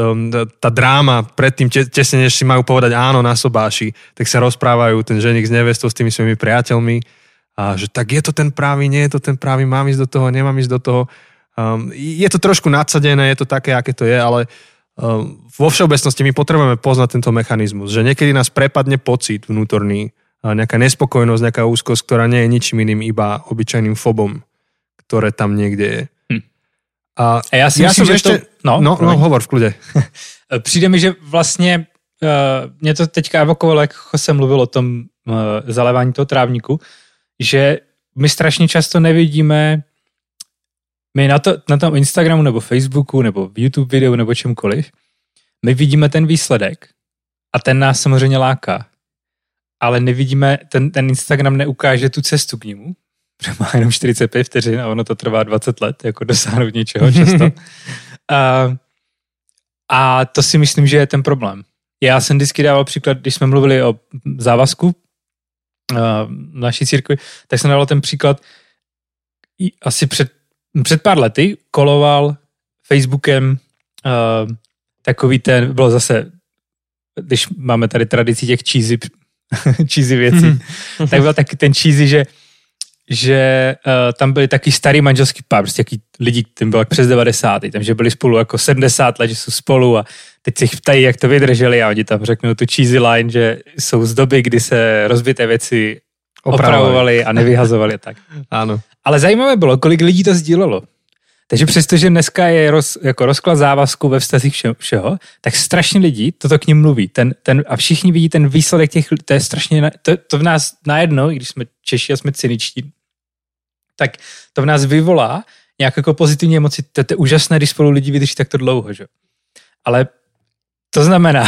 tá dráma predtým, tesne než si majú povedať áno na sobáši, tak sa rozprávajú ten ženík s nevestou, s tými svojimi priateľmi a že tak je to ten pravý, nie je to ten pravý, mám ísť do toho, nemám ísť do toho. Um, je to trošku nadsadené, je to také, aké to je, ale um, vo všeobecnosti my potrebujeme poznať tento mechanizmus, že niekedy nás prepadne pocit vnútorný, nejaká nespokojnosť, nejaká úzkosť, ktorá nie je ničím iným, iba obyčajným fobom, ktoré tam niekde je. Hm. A, a ja si ja myslím, že ešte... To... No, no, no, hovor v kľude. Přijde mi, že vlastně uh, mě to teďka evokovalo, jak jsem mluvil o tom uh, zalévání toho trávníku, že my strašně často nevidíme, my na, to, na tom Instagramu nebo Facebooku nebo v YouTube videu nebo čemkoliv, my vidíme ten výsledek a ten nás samozřejmě láká, ale nevidíme, ten, ten Instagram neukáže tu cestu k němu, protože má jenom čtyřicet pět vteřin a ono to trvá dvacet let, jako dosáhnout něčeho často. a, a to si myslím, že je ten problém. Já jsem vždycky dával příklad, když jsme mluvili o závazku, v naší církvi, tak jsem dal ten příklad asi před, před pár lety koloval Facebookem uh, takový ten, bylo zase, když máme tady tradici těch cheesy, cheesy věcí, mm. tak byl taky ten cheesy, že, že uh, tam byli taky starý manželský pár, prostě jaký lidi, tím bylo jak přes devadesát, takže byli spolu jako sedmdesát let, že jsou spolu a teď se jich ptají, jak to vydrželi a oni tam řeknou tu cheesy line, že jsou z doby, kdy se rozbité věci opravovali a nevyhazovali a tak. Ano. Ale zajímavé bylo, kolik lidí to sdílelo. Takže přestože dneska je roz, jako rozklad závazku ve vztazích vše, všeho, tak strašně lidí toto k ním mluví. Ten, ten, a všichni vidí ten výsledek těch, to je strašně, to, to v nás najednou, i když jsme Češi a jsme cyničtí, tak to v nás vyvolá nějak jako pozitivní emoci. To, to je úžasné, když spolu lidi vydrží takto dlouho, že? Ale to znamená,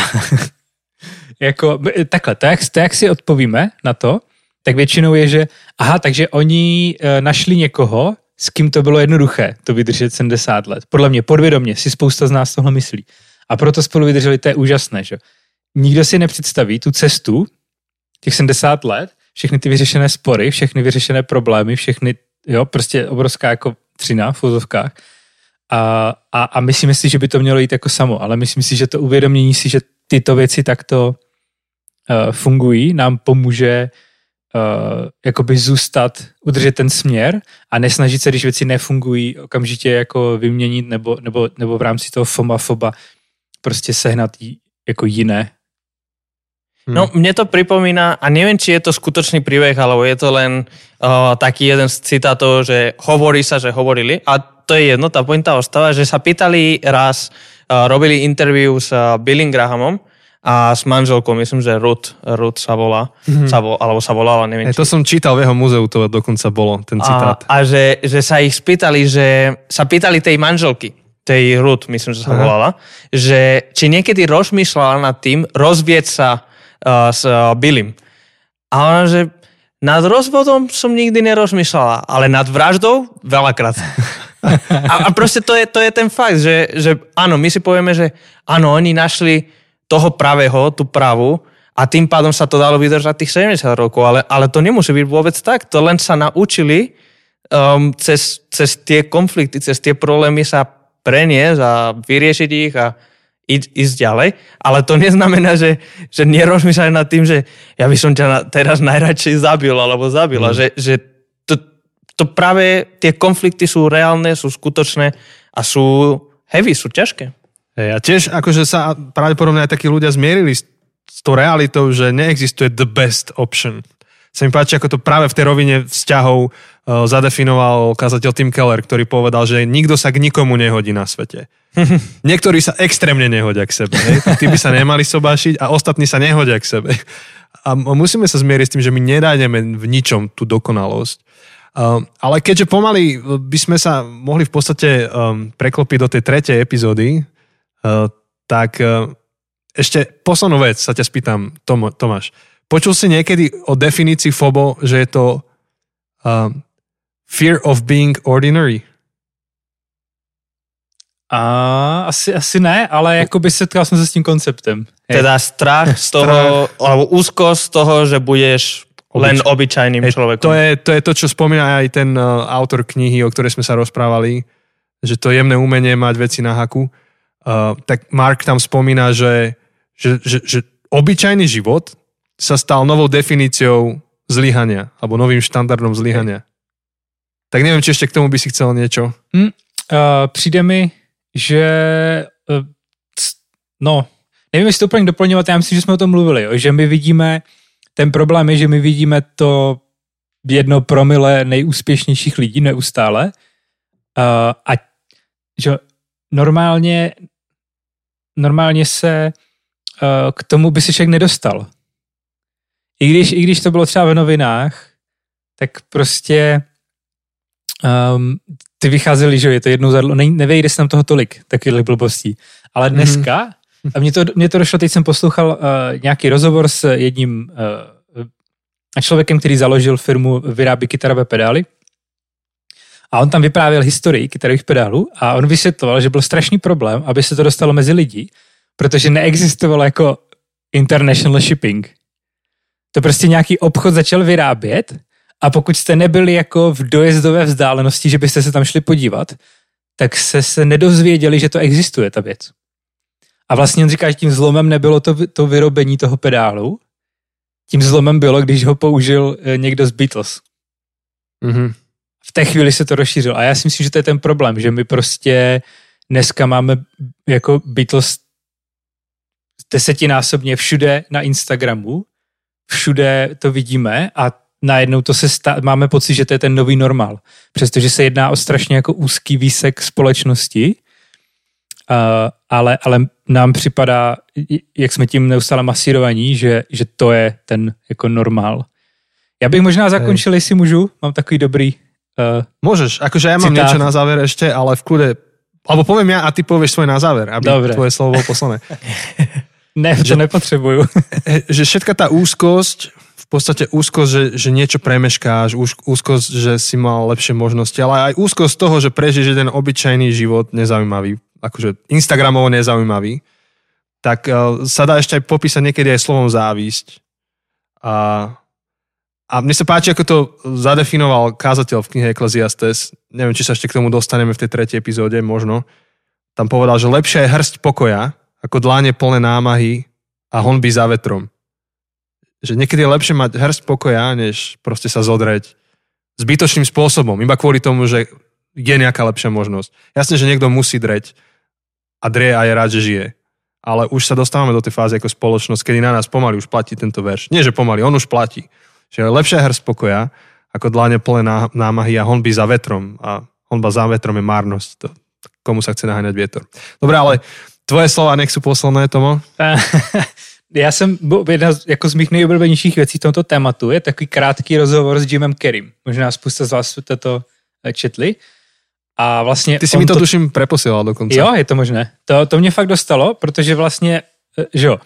jako, takhle, to jak, to jak si odpovíme na to, tak většinou je, že aha, takže oni e, našli někoho, s kým to bylo jednoduché to vydržet sedmdesát let. Podle mě podvědomě si spousta z nás tohle myslí. A proto spolu vydrželi, to je úžasné, že? Nikdo si nepředstaví tu cestu těch sedmdesát let, všechny ty vyřešené spory, všechny vyřešené problémy, všechny, jo, prostě obrovská jako třina v úzovkách. A, a, a myslím si, že by to mělo jít jako samo, ale myslím si, že to uvědomění si, že tyto věci takto uh, fungují, nám pomůže uh, jakoby zůstat, udržet ten směr a nesnažit se, když věci nefungují, okamžitě jako vyměnit nebo, nebo, nebo v rámci toho FOMA, FOBA prostě sehnat jako jiné. Hmm. No, mne to pripomína, a neviem, či je to skutočný príbeh, alebo je to len uh, taký jeden z citátov, že hovorí sa, že hovorili. A to je jedno, tá pointa ostáva, že sa pýtali raz, uh, robili interview s uh, Billym Grahamom a s manželkou, myslím, že Ruth, Ruth sa volá, mm-hmm. sa vol, alebo sa volala, neviem. E, to som čítal v jeho múzeu, to dokonca bolo, ten citát. A, a že, že sa ich spýtali, že sa pýtali tej manželky, tej Ruth, myslím, že sa Aha. volala, že či niekedy rozmýšľala nad tým rozvieť sa uh, s uh, Billym. A ona, že nad rozvodom som nikdy nerozmýšľala, ale nad vraždou veľakrát. a, a proste to je, to je ten fakt, že, že áno, my si povieme, že áno, oni našli toho pravého, tú pravú, a tým pádom sa to dalo vydržať tých sedemdesiat rokov, ale, ale to nemusí byť vôbec tak. To len sa naučili um, cez, cez tie konflikty, cez tie problémy sa preniesť a vyriešiť ich a ísť, ísť ďalej. Ale to neznamená, že, že nerozmýšľaj nad tým, že ja by som ťa na, teraz najradšej zabil alebo zabila. Mm. Že, že to, to práve tie konflikty sú reálne, sú skutočné a sú heavy, sú ťažké. Hey, a tiež akože sa pravdepodobne aj takí ľudia zmierili s, s tou realitou, že neexistuje the best option. Sa mi páči, ako to práve v tej rovine vzťahov uh, zadefinoval kazateľ Tim Keller, ktorý povedal, že nikto sa k nikomu nehodí na svete. Niektorí sa extrémne nehodia k sebe. Hej? Tí by sa nemali sobášiť a ostatní sa nehodia k sebe. A musíme sa zmieriť s tým, že my nedájdeme v ničom tú dokonalosť. Um, ale keďže pomaly by sme sa mohli v podstate um, preklopiť do tej tretej epizódy, Uh, tak uh, ešte poslednú vec sa ťa spýtam, Tom, Tomáš. Počul si niekedy o definícii F O B O, že je to um, fear of being ordinary? A, asi, asi ne, ale jakoby setkal som sa s tým konceptem. Hej. Teda strach z toho, alebo úzkosť z toho, že budeš len obyčajným Hej, človekom. To je, to je to, čo spomína aj ten uh, autor knihy, o ktorej sme sa rozprávali, že to jemné umenie mať veci na haku. Uh, tak Mark tam spomína, že, že, že, že obyčajný život sa stal novou definíciou zlyhania, alebo novým štandardom zlyhania. Tak neviem, či ešte k tomu by si chcel niečo. Hmm, uh, přijde mi, že uh, no, nevím, jestli to úplně doplňovat, já myslím, že jsme o tom mluvili, jo, že my vidíme, ten problém je, že my vidíme to jedno promile nejúspěšnějších lidí neustále uh, a že normálně normálně se uh, k tomu by si člověk nedostal. I když, I když to bylo třeba v novinách, tak prostě um, ty vycházely, že je to jednou za dlouho, ne, nevejde se tam toho tolik, takových blbostí. Ale dneska, mm-hmm. a mně to, mně to došlo, teď jsem poslouchal uh, nějaký rozhovor s jedním uh, člověkem, který založil firmu, vyrábí kytarové pedály. A on tam vyprávěl historii kytarových pedálů a on vysvětloval, že byl strašný problém, aby se to dostalo mezi lidi, protože neexistovalo jako international shipping. To prostě nějaký obchod začal vyrábět a pokud jste nebyli jako v dojezdové vzdálenosti, že byste se tam šli podívat, tak se, se nedozvěděli, že to existuje, ta věc. A vlastně on říká, že tím zlomem nebylo to, to vyrobení toho pedálu, tím zlomem bylo, když ho použil někdo z Beatles. Mhm. V té chvíli se to rozšířilo. A já si myslím, že to je ten problém, že my prostě dneska máme jako Beatles desetinásobně všude na Instagramu, všude to vidíme a najednou to se stá, máme pocit, že to je ten nový normál. Přestože se jedná o strašně jako úzký výsek společnosti, uh, ale, ale nám připadá, jak jsme tím neustále masírovaní, že, že to je ten jako normál. Já bych možná zakončil, jestli můžu, mám takový dobrý Uh, Môžeš, akože ja mám citát. Niečo na záver ešte, ale v kľude, alebo poviem ja a ty povieš svoje na záver, aby Dobre. Tvoje slovo bolo poslané. Ne, to že, nepotrebujú. Že všetka tá úzkosť, v podstate úzkosť, že, že niečo premeškáš, úzkosť, že si mal lepšie možnosti, ale aj úzkosť toho, že prežiješ jeden obyčajný život nezaujímavý, akože instagramovo nezaujímavý, tak uh, sa dá ešte aj popísať niekedy aj slovom závisť. A A mne sa páči, ako to zadefinoval kázateľ v knihe Ecclesiastes. Neviem, či sa ešte k tomu dostaneme v tej tretej epizóde, možno. Tam povedal, že lepšia je hrst pokoja, ako dláne plné námahy a honby za vetrom. Že niekedy je lepšie mať hrst pokoja, než proste sa zodreť zbytočným spôsobom, iba kvôli tomu, že je nejaká lepšia možnosť. Jasne, že niekto musí dreť a drie a je rád, že žije. Ale už sa dostávame do tej fázy ako spoločnosť, kedy na nás pomaly už platí tento verš. Nie, že pomaly, on už platí. Že je lepšia hrst pokoja, ako dláne plné námahy a honby za vetrom. A honba za vetrom je márnosť. To, komu sa chce naháňať vietor. Dobre, ale Tvoje slova nech sú posledné, Tomo. Já jsem, jedna z, jako z mých nejoblíbenějších věcí v tomto tématu je takový krátký rozhovor s Jimem Carreym. Možná spousta z vás to četli. A vlastně Ty si mi to, to tuším preposílal dokonce. Jo, je to možné. To, to mě fakt dostalo, protože vlastně, že jo,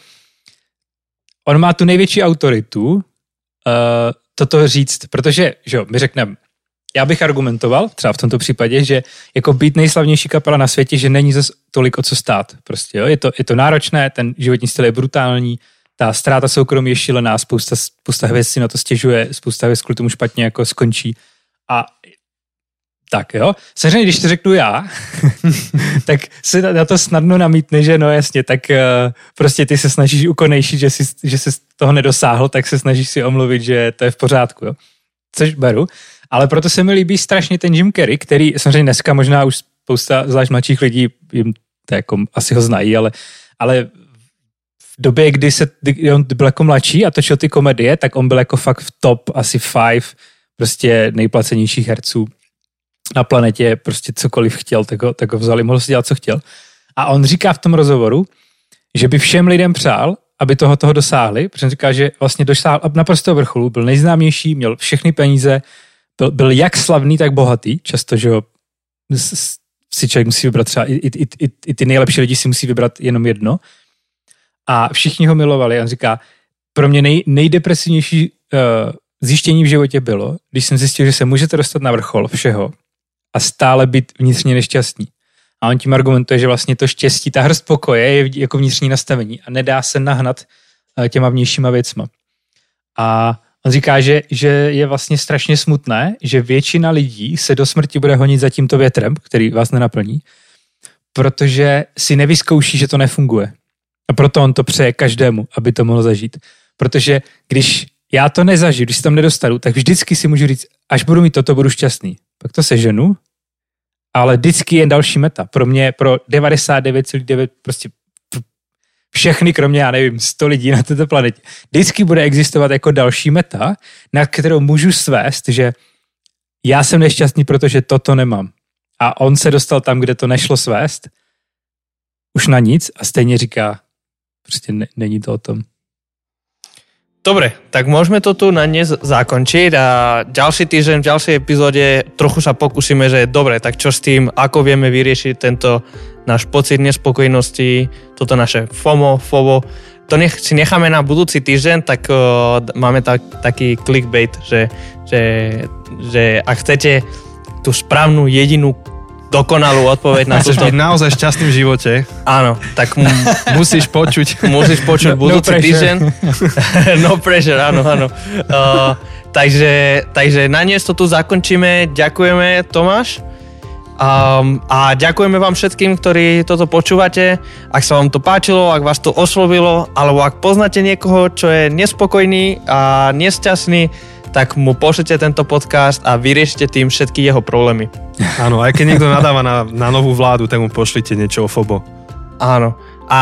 on má tu největší autoritu uh, toto říct, protože, že jo, my řekneme, já bych argumentoval, třeba v tomto případě, že jako být nejslavnější kapela na světě, že není zas tolik o co stát. Prostě, jo? Je to, je to náročné, ten životní styl je brutální, ta ztráta soukromí je šílená, spousta, spousta hvězd si na to stěžuje, spousta hvězd kvůli tomu špatně jako skončí. A tak jo, samozřejmě, když to řeknu já, tak se na to snadno namítne, že no jasně, tak uh, prostě ty se snažíš ukonejšit, že jsi, že jsi toho nedosáhl, tak se snažíš si omluvit, že to je v pořádku, jo. Což beru. Ale proto se mi líbí strašně ten Jim Carrey, který samozřejmě dneska možná už spousta zvlášť mladších lidí jim to jako asi ho znají, ale, ale v době, kdy, se, kdy on byl jako mladší a točil ty komedie, tak on byl jako fakt v top asi five prostě nejplacenějších herců na planetě, prostě cokoliv chtěl, tak ho, tak ho vzali, mohl si dělat, co chtěl. A on říká v tom rozhovoru, že by všem lidem přál, aby toho toho dosáhli, protože on říká, že vlastně dosáhl naprosto vrcholu, byl nejznámější, měl všechny peníze, Byl, byl jak slavný, tak bohatý. Často, že jo, si člověk musí vybrat třeba, i, i, i, i ty nejlepší lidi si musí vybrat jenom jedno. A všichni ho milovali. On říká, pro mě nej, nejdepresivnější uh, zjištění v životě bylo, když jsem zjistil, že se můžete dostat na vrchol všeho a stále být vnitřně nešťastný. A on tím argumentuje, že vlastně to štěstí, ta hrst pokoje je jako vnitřní nastavení a nedá se nahnat uh, těma vnějšíma věcma. A on říká, že, že je vlastně strašně smutné, že většina lidí se do smrti bude honit za tímto větrem, který vás nenaplní, protože si nevyzkouší, že to nefunguje. A proto on to přeje každému, aby to mohl zažít. Protože když já to nezažiju, když se tam nedostanu, tak vždycky si můžu říct, až budu mít toto, budu šťastný. Pak to seženu, ale vždycky je další meta. Pro mě, pro devadesát devět celá devět prostě všechny, kromě, já nevím, sto lidí na této planetě, vždycky bude existovat jako další meta, na kterou můžu svést, že já jsem nešťastný, protože toto nemám. A on se dostal tam, kde to nešlo svést, už na nic a stejně říká, prostě ne, není to o tom. Dobre, tak môžeme to tu na dnes zakončiť a ďalší týždeň v ďalšej epizóde trochu sa pokúsime, že dobre, tak čo s tým, ako vieme vyriešiť tento náš pocit nespokojnosti, toto naše FOMO, FOBO. To nech, si necháme na budúci týždeň, tak uh, máme tak, taký clickbait, že, že, že ak chcete tú správnu jedinú dokonalú odpoveď na túto... Chceš byť naozaj šťastný v živote. Áno, tak m- musíš počuť. Musíš počuť no, budúci no týždeň. No pressure, áno, áno. Uh, takže, takže na dnes to tu zakončíme. Ďakujeme, Tomáš. Um, a ďakujeme vám všetkým, ktorí toto počúvate. Ak sa vám to páčilo, ak vás to oslovilo, alebo ak poznáte niekoho, čo je nespokojný a nešťastný, tak mu pošlite tento podcast a vyriešite tým všetky jeho problémy. Áno, aj keď niekto nadáva na, na novú vládu, tak mu pošlite niečo o FOBO. Áno. A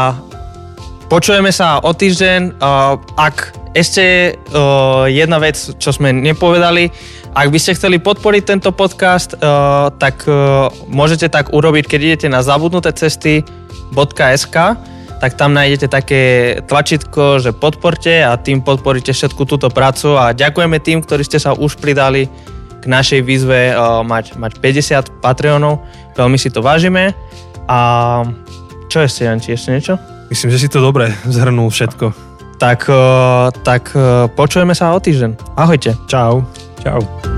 počujeme sa o týždeň. Ak ešte jedna vec, čo sme nepovedali, ak by ste chceli podporiť tento podcast, tak môžete tak urobiť, keď idete na zabudnuté cesty bodka es ká, tak tam nájdete také tlačítko, že podporte a tým podporíte všetku túto prácu a ďakujeme tým, ktorí ste sa už pridali k našej výzve uh, mať, mať päťdesiat Patreonov. Veľmi si to vážime. A čo ešte, Janči, ešte niečo? Myslím, že si to dobre zhrnul všetko. Tak, uh, tak uh, počujeme sa o týždeň. Ahojte. Čau. Čau.